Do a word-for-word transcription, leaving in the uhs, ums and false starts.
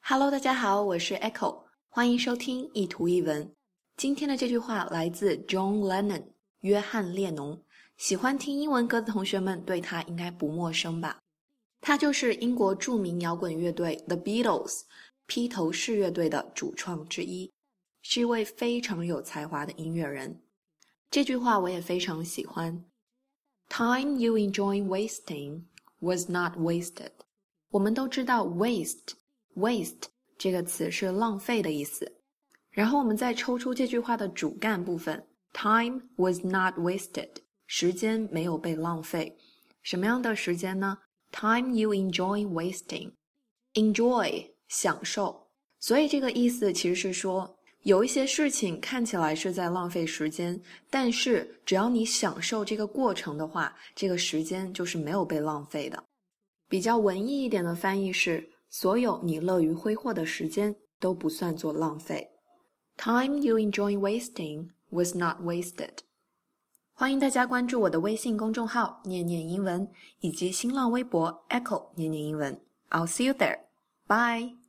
Hello， 大家好，我是 Echo， 欢迎收听一图一文。今天的这句话来自 John Lennon， 约翰列侬。喜欢听英文歌的同学们对他应该不陌生吧？他就是英国著名摇滚乐队 The Beatles 披头士乐队的主创之一，是一位非常有才华的音乐人。这句话我也非常喜欢。Time you enjoy wasting was not wasted。我们都知道 waste waste 这个词是浪费的意思，然后我们再抽出这句话的主干部分 Time was not wasted， 时间没有被浪费。什么样的时间呢？ Time you enjoy wasting， Enjoy 享受，所以这个意思其实是说有一些事情看起来是在浪费时间，但是只要你享受这个过程的话，这个时间就是没有被浪费的。比较文艺一点的翻译是所有你乐于挥霍的时间都不算作浪费。 Time you enjoy wasting was not wasted。 欢迎大家关注我的微信公众号念念英文，以及新浪微博 Echo 念念英文。 I'll see you there. Bye.